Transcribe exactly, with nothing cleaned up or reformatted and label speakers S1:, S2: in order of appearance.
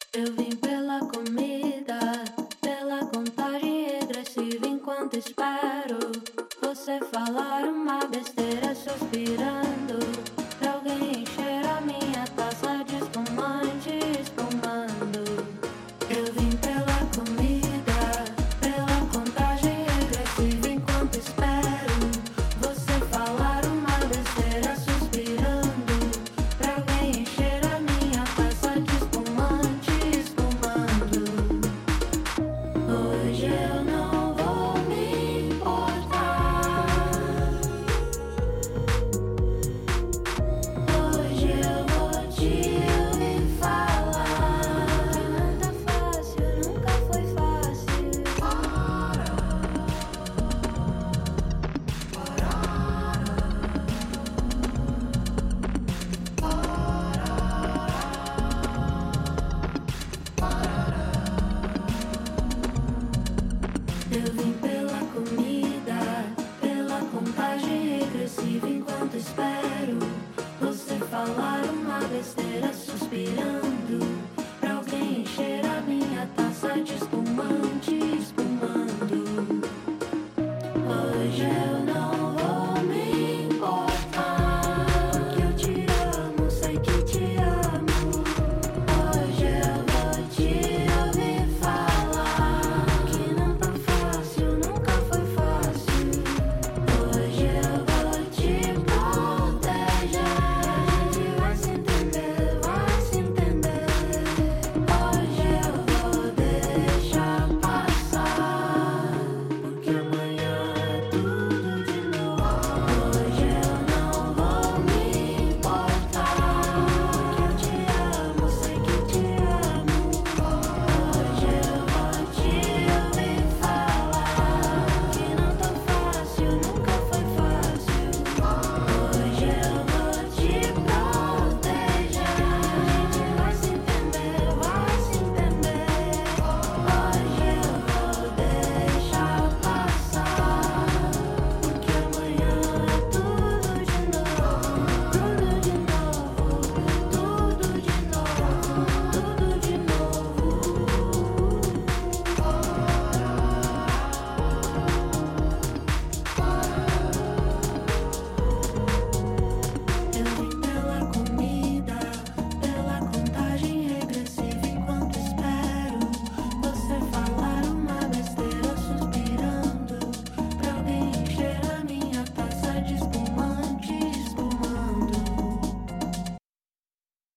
S1: Eu vim pela comida, pela contagem regressiva enquanto espero você falar uma besteira suspirando pra alguém encher a minha taça de espumante espumando. Eu vim pela comida, pela contagem regressiva enquanto espero você falar uma besteira suspirando pra alguém encher a minha taça de espumante espumando. Hoje eu não vou me importar. Hoje eu vou te ouvir falar. Que não tá fácil, nunca foi fácil. Eu vim pela comida, pela contagem regressiva enquanto espero você falar uma besteira suspirando